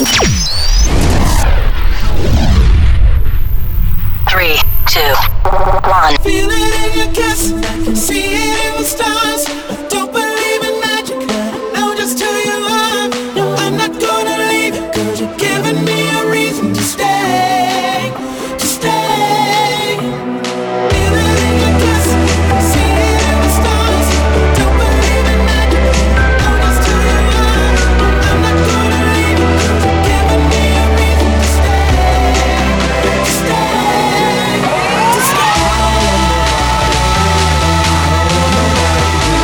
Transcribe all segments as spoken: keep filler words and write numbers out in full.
Three, two, one. Feel it in your kiss, see it in the stars. I don't believe in magic, I know just who you are. No, I'm not gonna leave you, cause you're giving me a reason to stay, to stay. Feel it in your kiss, see it in the stars. I don't believe in magic, I know just who you are. No, I'm not gonna leave you, cause you're giving me a reason to stay, to stay, to stay.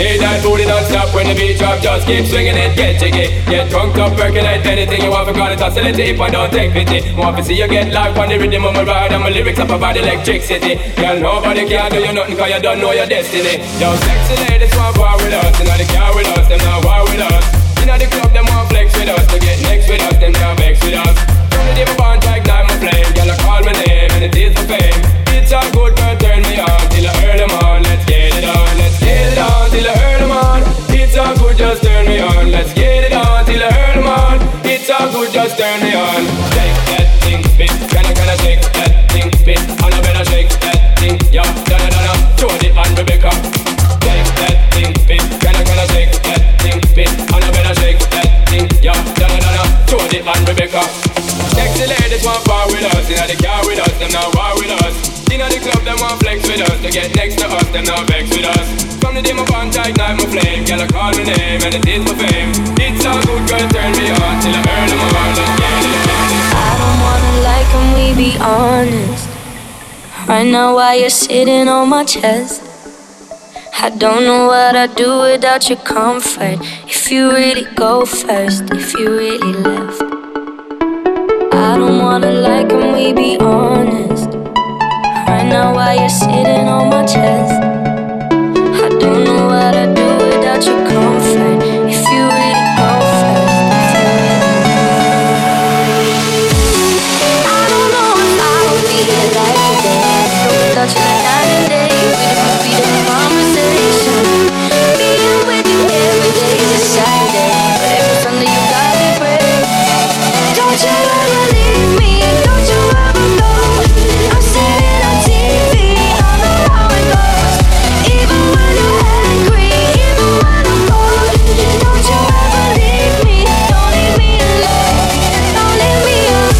Hey, that booty don't stop when the beat drop. Just keep swinging it, get jiggy. Get drunk up, percolate anything you want for God. It's oscillate if I don't take pity. Want to see you get live on the rhythm of my ride. And my lyrics up about electricity. Girl, nobody can do you nothing cause you don't know your destiny. Yo, sexy ladies want war with us. You know they care with us, them not war with us. You know the club, them want flex with us. To get next with us, them can't vex with us. From the day my bond to ignite my flame. Girl, I call my name and it is for fame. It's a good girl, turn me on till I earn them on. Let's get it on, let's get it on till I earn them on. It's a good, just turn me on. Let's get it on till I earn them on. It's a good, just turn me on. Shake that thing, spit. Can I, can I shake that thing, spit? And I better shake that thing, yeah. Donna, Donna, Jody and Rebecca. Shake that thing, spit. Can I, can I shake that thing, spit? And I better shake that thing, yeah. Donna, Donna, Jody and Rebecca. Sexy ladies want bar with us. You know they car with us, them not war with us. You know the club, them want flex with us. To get next to us, them not vex with us. From the day my bond to ignite my flame. Girl, I call my name and it is my fame. It's a good girl, turn me on till I earn them on. Let's get it, get it. I don't wanna lie, can we be honest? Right now while you're sitting on my chest, I don't know what I'd do without your comfort. If you really go first, if you really left. I don't wanna lie, can we be honest? Right now while you're sitting on my chest, I don't know what I'd do without your comfort. If you really go first, if you really I don't know if I would be alive today without you like night and day. We don't be the conversation. Being with you every day is a Saturday, but every Sunday you got me praying. Don't you ever leave me, don't you ever go. I'm sitting on T V, I know how it goes. Even when you're angry, even when I'm bored. Don't you ever leave me, don't leave me alone. Don't leave me alone.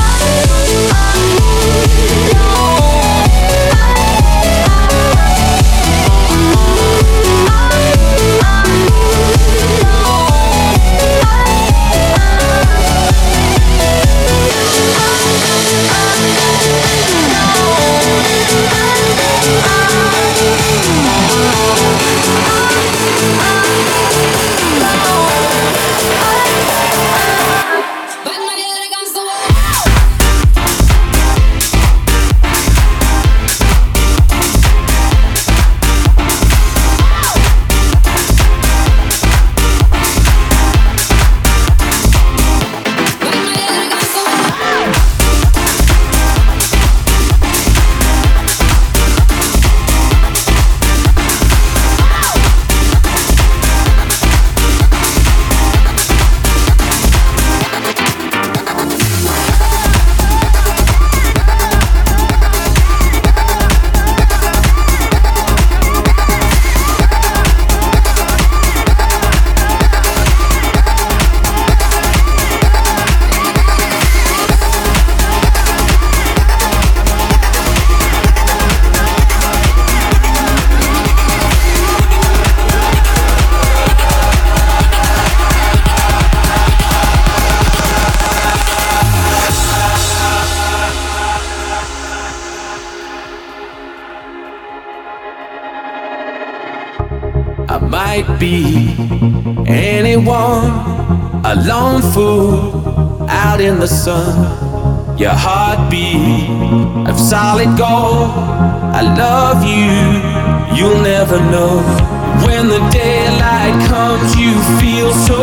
I might be anyone, a lone fool out in the sun. Your heartbeat of solid gold. I love you, you'll never know. When the daylight comes, you feel so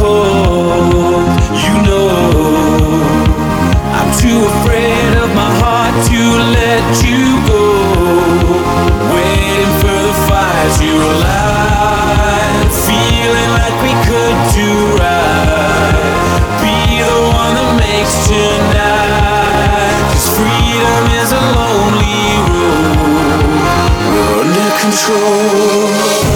cold. You know I'm too afraid of my heart to let you go. Waiting for the fire to light, feeling like we could do right. Be the one that makes tonight, 'cause freedom is a lonely road. We're under control.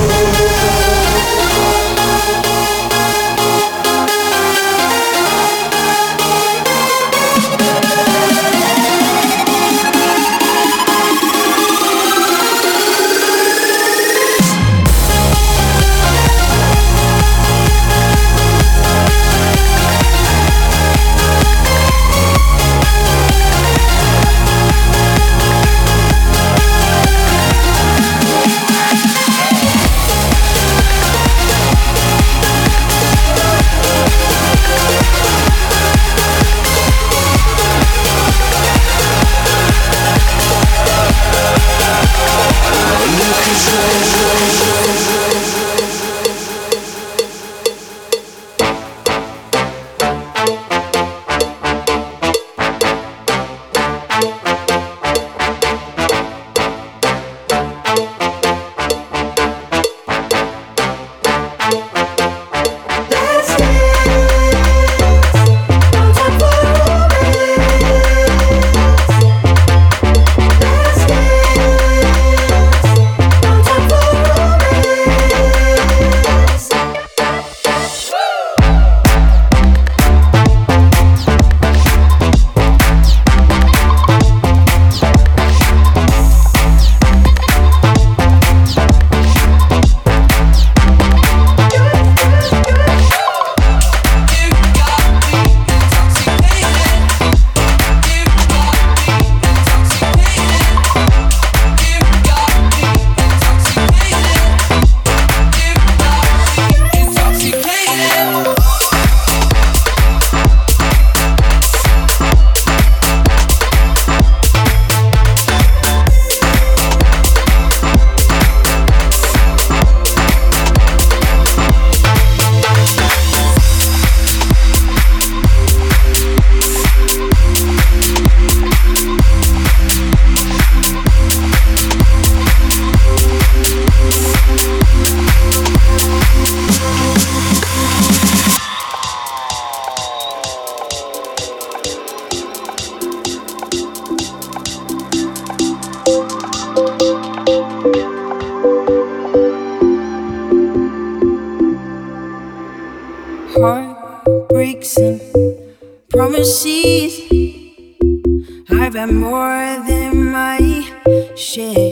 I've had more than my share.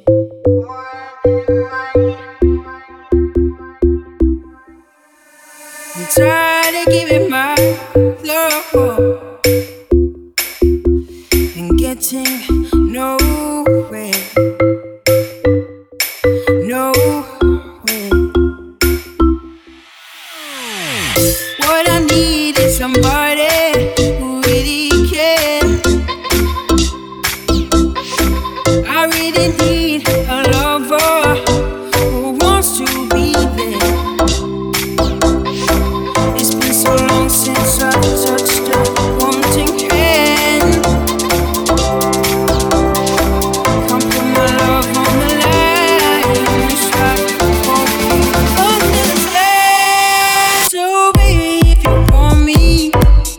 I'm tired of giving my love and getting nowhere. Nowhere. What I need is somebody who really cares. I really need a lover who wants to be there. It's been so long since I touched a wanting hand. Come put my love on the line. It's like falling under the sky. So baby, if you want me,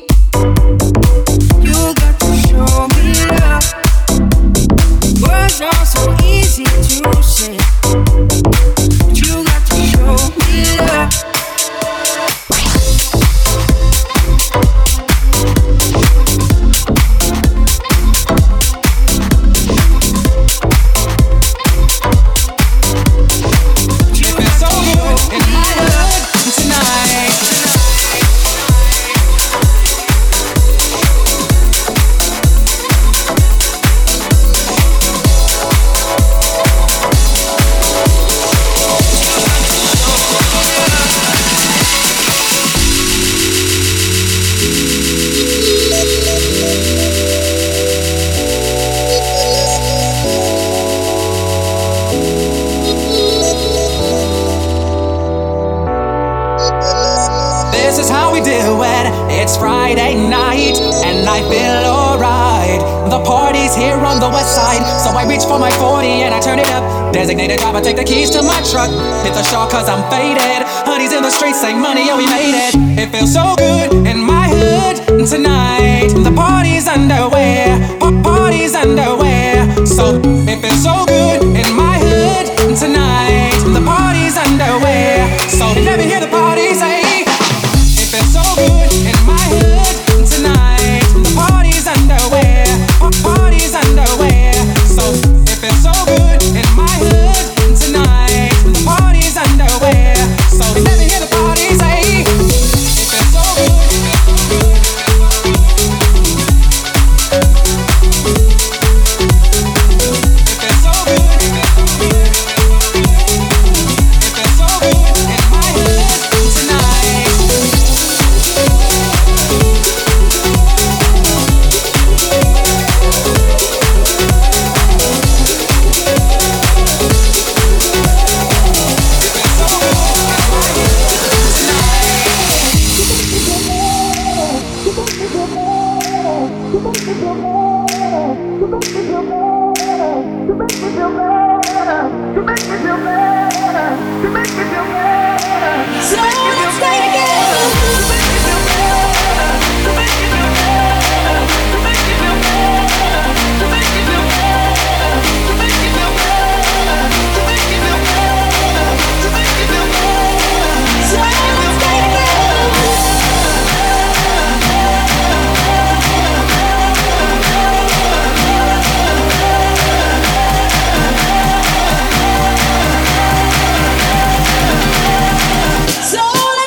you got to show me love. Words are so easy to say, but you got to show me love. This is how we do it. It's Friday night and I feel alright. The party's here on the west side, so I reach for my forty and I turn it up. Designated driver, take the keys to my truck. Hit the shore cause I'm faded. Honey's in the streets, say money, yeah we made it. It feels so good in my hood tonight. The party's underway, pa- party's underway. So it feels so good in my hood tonight. The party's underway. So let me hear the party say. It feels so good in my hood tonight. The party's underway, pa- party's underway. So it feels so good in my hood tonight. The party's underway. So let me hear the party say. It feels so good. It feels so good. It feels so good in my hood tonight. So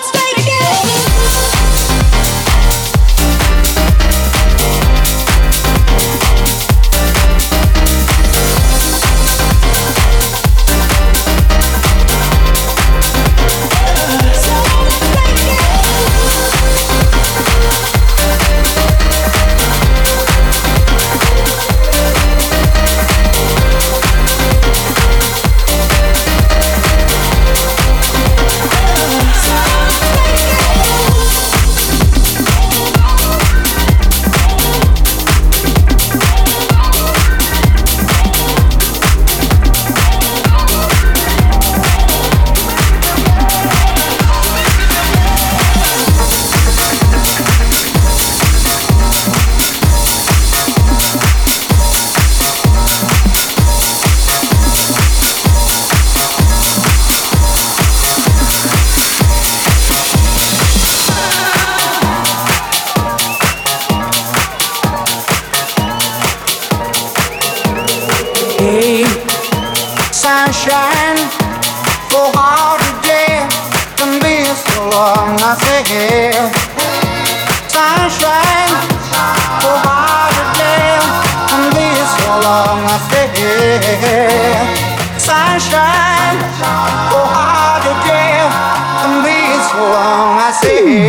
sunshine. Oh, how you care for me so long, I say.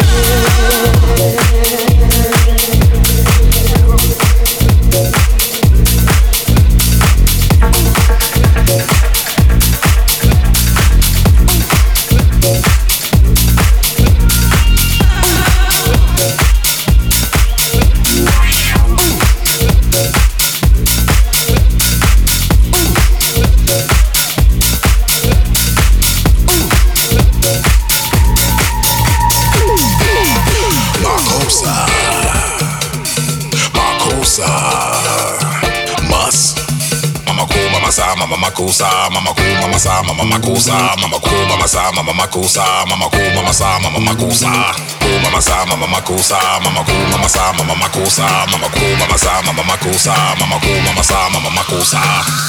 Mama makusa, mama ku, mama sa, mama makusa, mama ku, mama sa, mama makusa, mama ku, mama sa, mama makusa, ku, mama sa, mama makusa, mama ku, mama sa, mama makusa, mama ku, mama sa, mama makusa, mama ku, mama sa, mama makusa.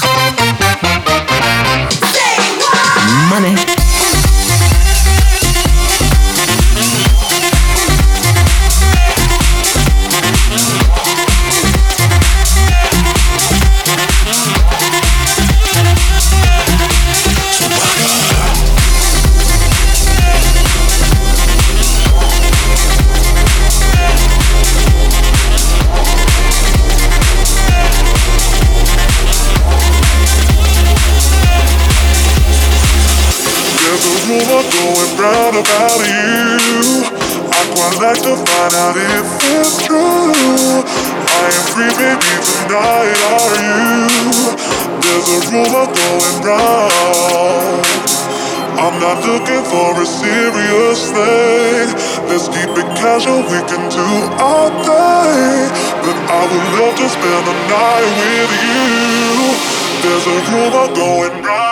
Money. rumor going round about you. I'd quite like to find out if it's true. I am free, baby, tonight, are you? There's a rumor going round. I'm not looking for a serious thing. Let's keep it casual, we can do our thing. But I would love to spend the night with you. There's a rumor going round.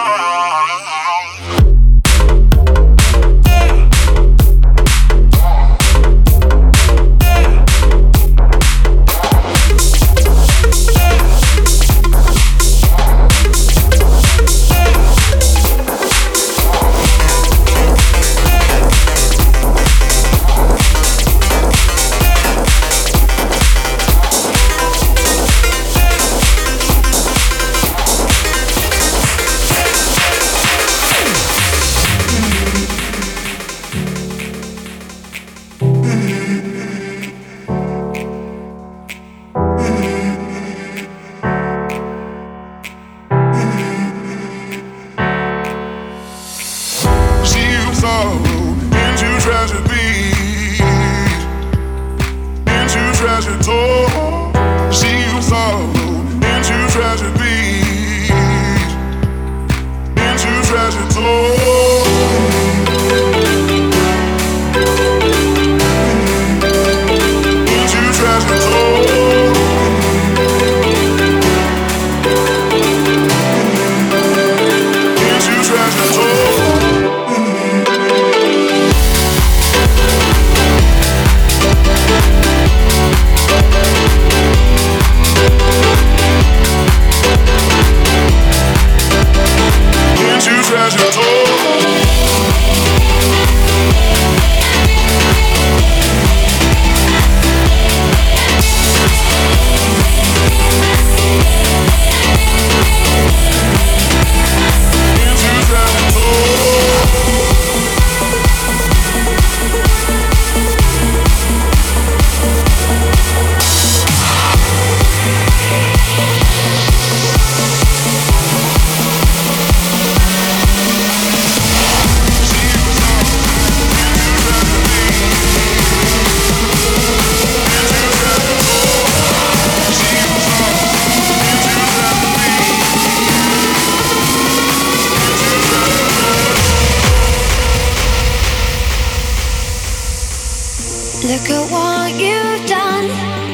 Look at what you've done.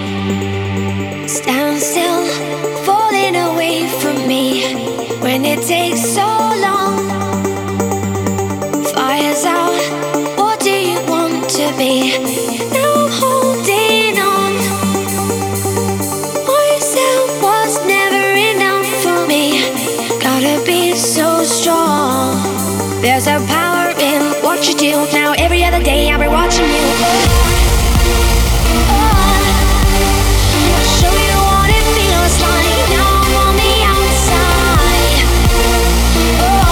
Stand still, falling away from me. When it takes so long, fire's out, what do you want to be? Now I'm holding on. Myself was never enough for me. Gotta be so strong. There's a power in what you do. Now every other day I'll be watching you. Oh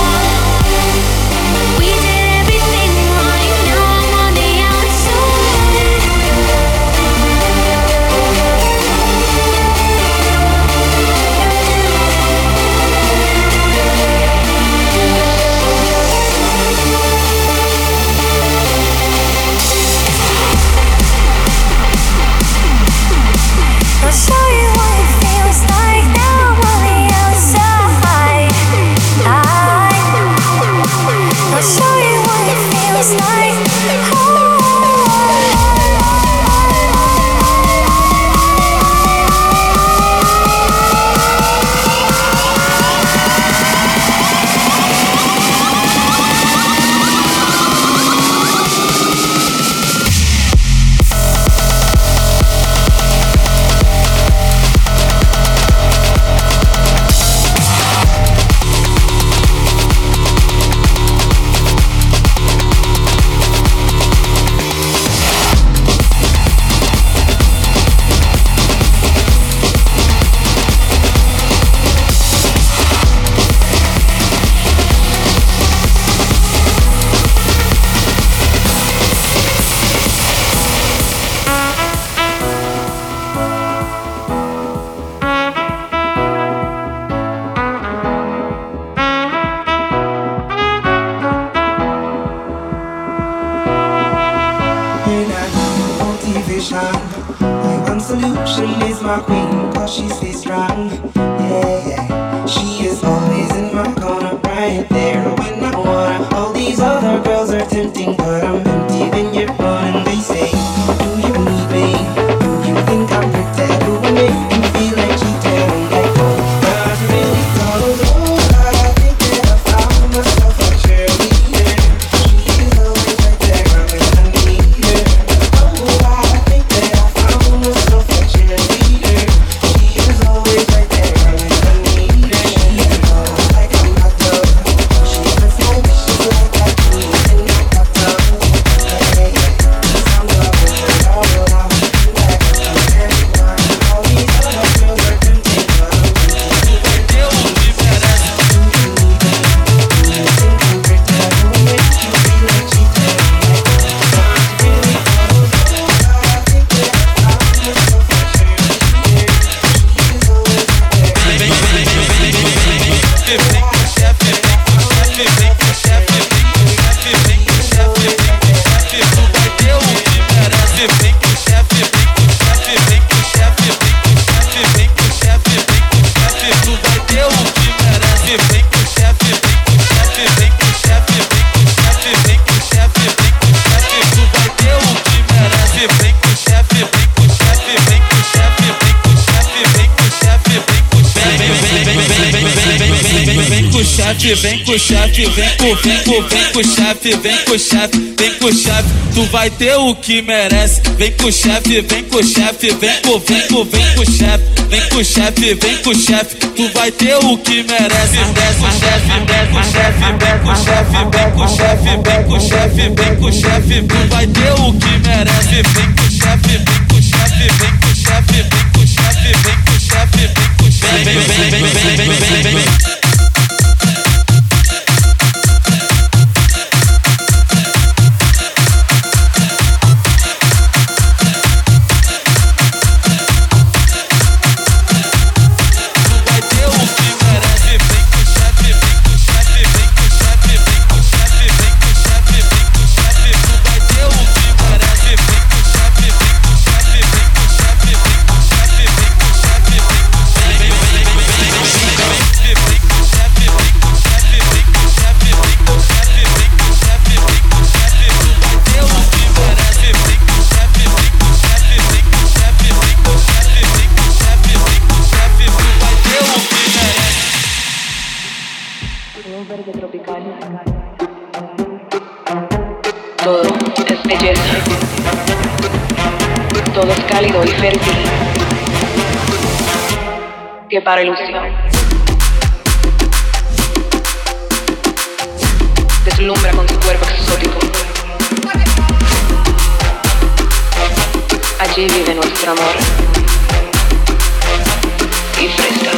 my queen, cause she stays strong. Yeah, yeah. She is always in my corner, right there when I wanna. All these other girls are tempting, but I'm empty when you're gone. And they say, do you need me? Do you think I'm pretty? Do I make you feel like cheating? I'm like, oh, not really. Although I think that I found myself a cheerleader. She is always right there when I need her. Oh, I think that I found myself a cheerleader. She is always right there when I need her. She knows like I'm not done. She puts my wishes like I do in my bathtub. Hey, I'm loving her all around. Like everyone, all these other girls are tempting, but I'm Vem com o chefe, vem com, vem com, vem com o chefe, vem com o chefe, vem com o chefe, tu vai ter o que merece. Vem com o chefe, vem com o chefe, vem com, vem com, vem com o chefe, vem com o chefe, vem com o chefe, tu vai ter o que merece. Desce o chefe, vem com o chefe, vem com o chefe, vem com o chefe, vem com o chefe, vem com o chefe, tu vai ter o que merece. Vem com o chefe, vem com o chefe, vem com o chefe, vem com o chefe, vem com o chefe, vem com o chefe, vem, vem, vem, vem, vem, vem, vem, vem. Todo es belleza, todo es cálido y fértil. Que para ilusión deslumbra con su cuerpo exótico. Allí vive nuestro amor y fresca.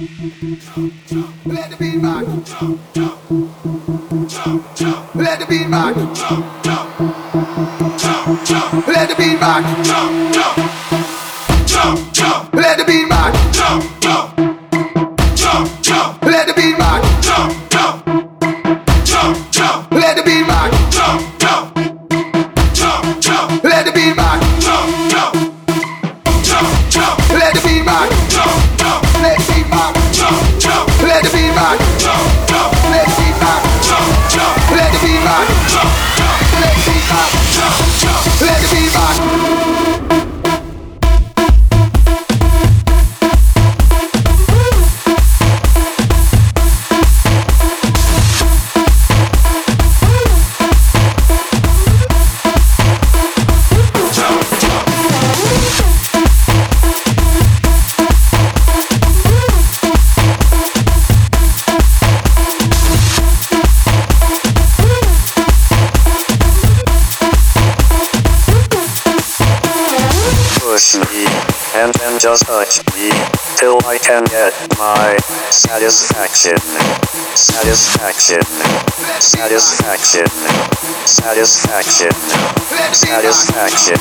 Let the beat rock. Let the beat rock. Let the beat rock. Let the beat rock. Let the beat rock. Let the beat rock. Let the beat rock. Let the beat rock. Let the beat rock. Let the beat rock. Let the beat rock. Let the beat rock. Let the beat rock. Let the beat rock. Push me, and then just touch me, till I can get my satisfaction. Satisfaction. Satisfaction. Satisfaction. Satisfaction.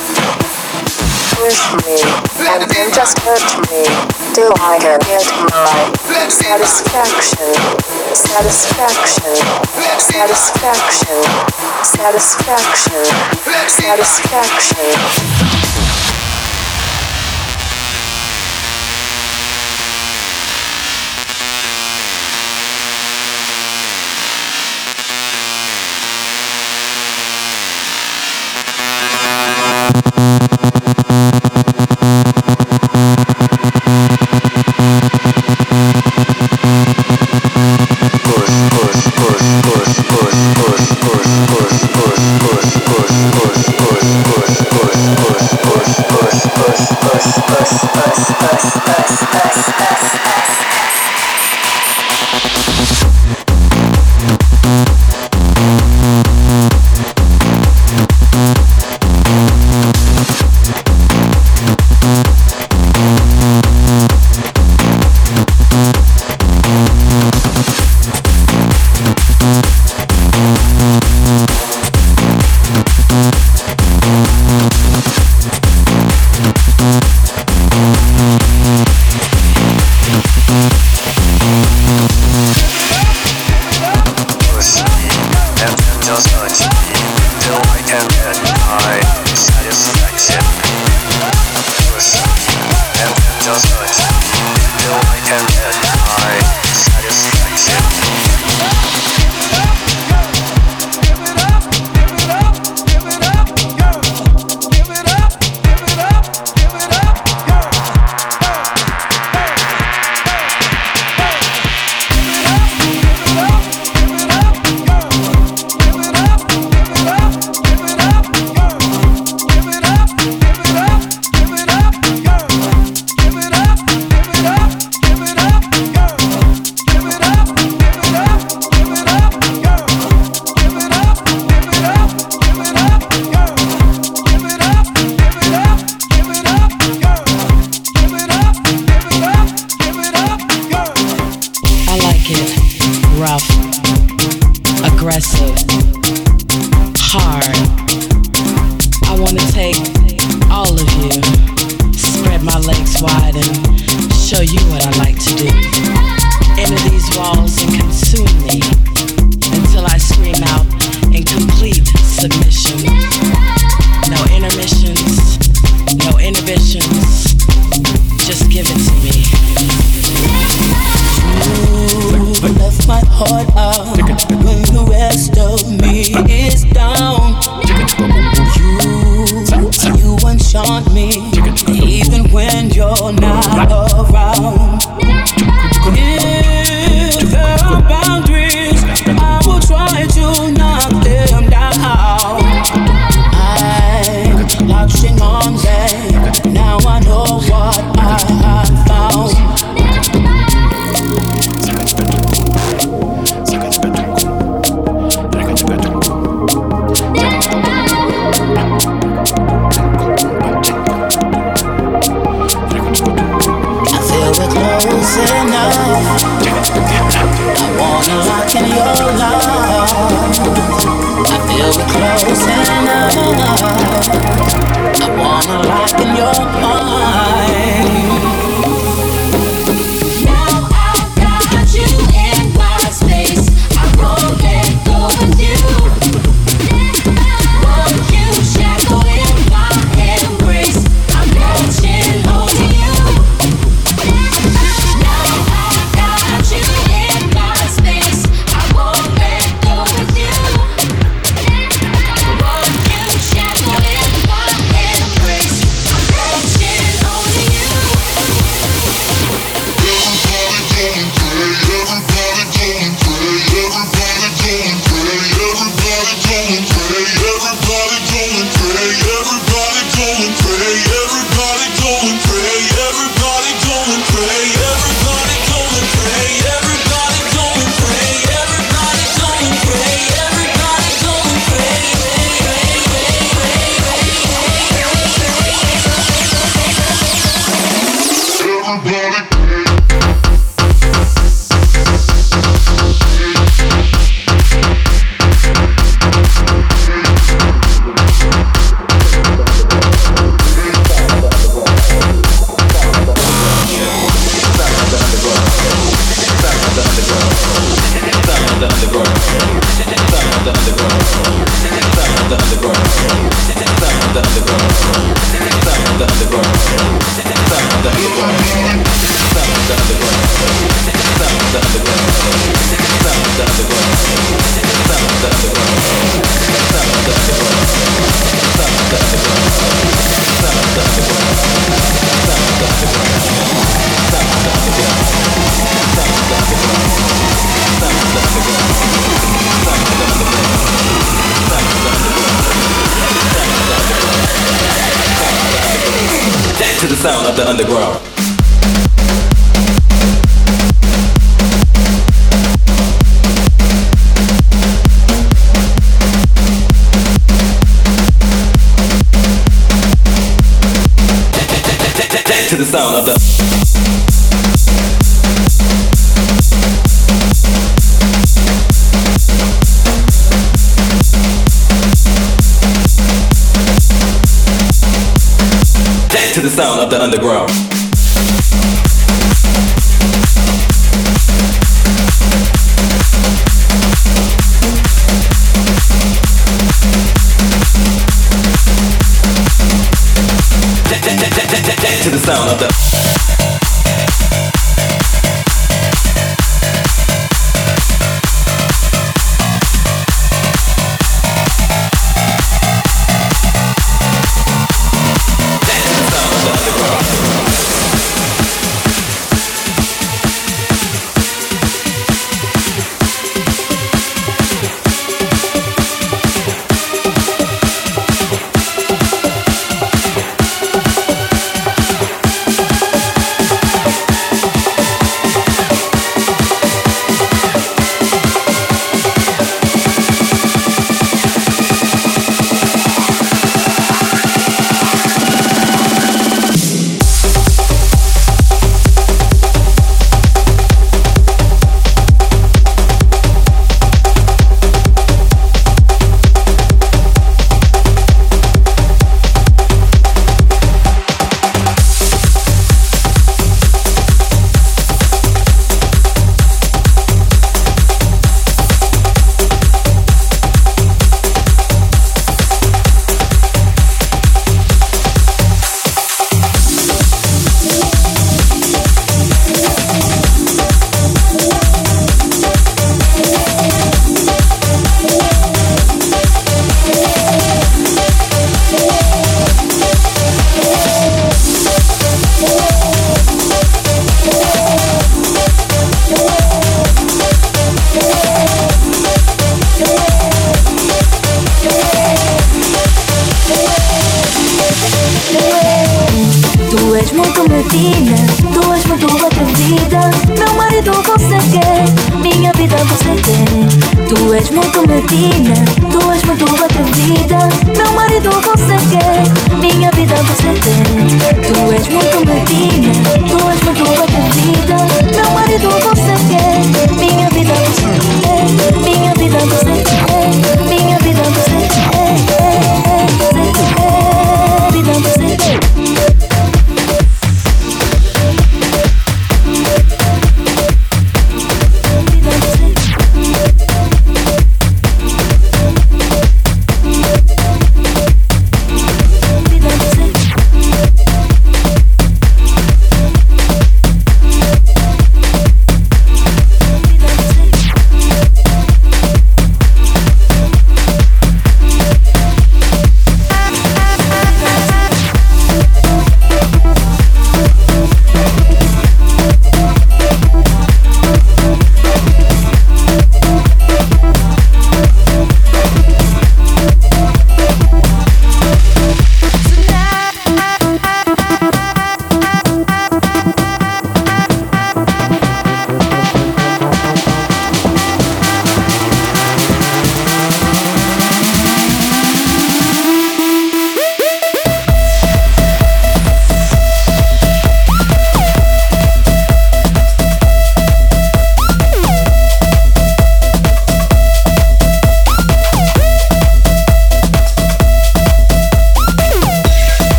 Push me, and then just hurt me, till I can get my satisfaction. Satisfaction. Satisfaction. Satisfaction. Satisfaction. Seconds better. close enough. I wanna lock in your love. I feel we're close enough. I wanna lock in your mind. Now I've got you in my space. I won't let go of you. Won't you shackle in my embrace? I'm reaching over you. Now I've got you in my space. I won't let go of you. Won't you shackle in my embrace? I'm reaching over you. To the sound of the underground. To the sound of the to the sound of the underground. To the sound of the rotina. Tu és muito atrevida, meu marido você quer, minha vida você tem. Tu és muito medina, tu és muito atrevida, meu marido você quer, minha vida você tem. Tu és muito medina, tu és muito atrevida,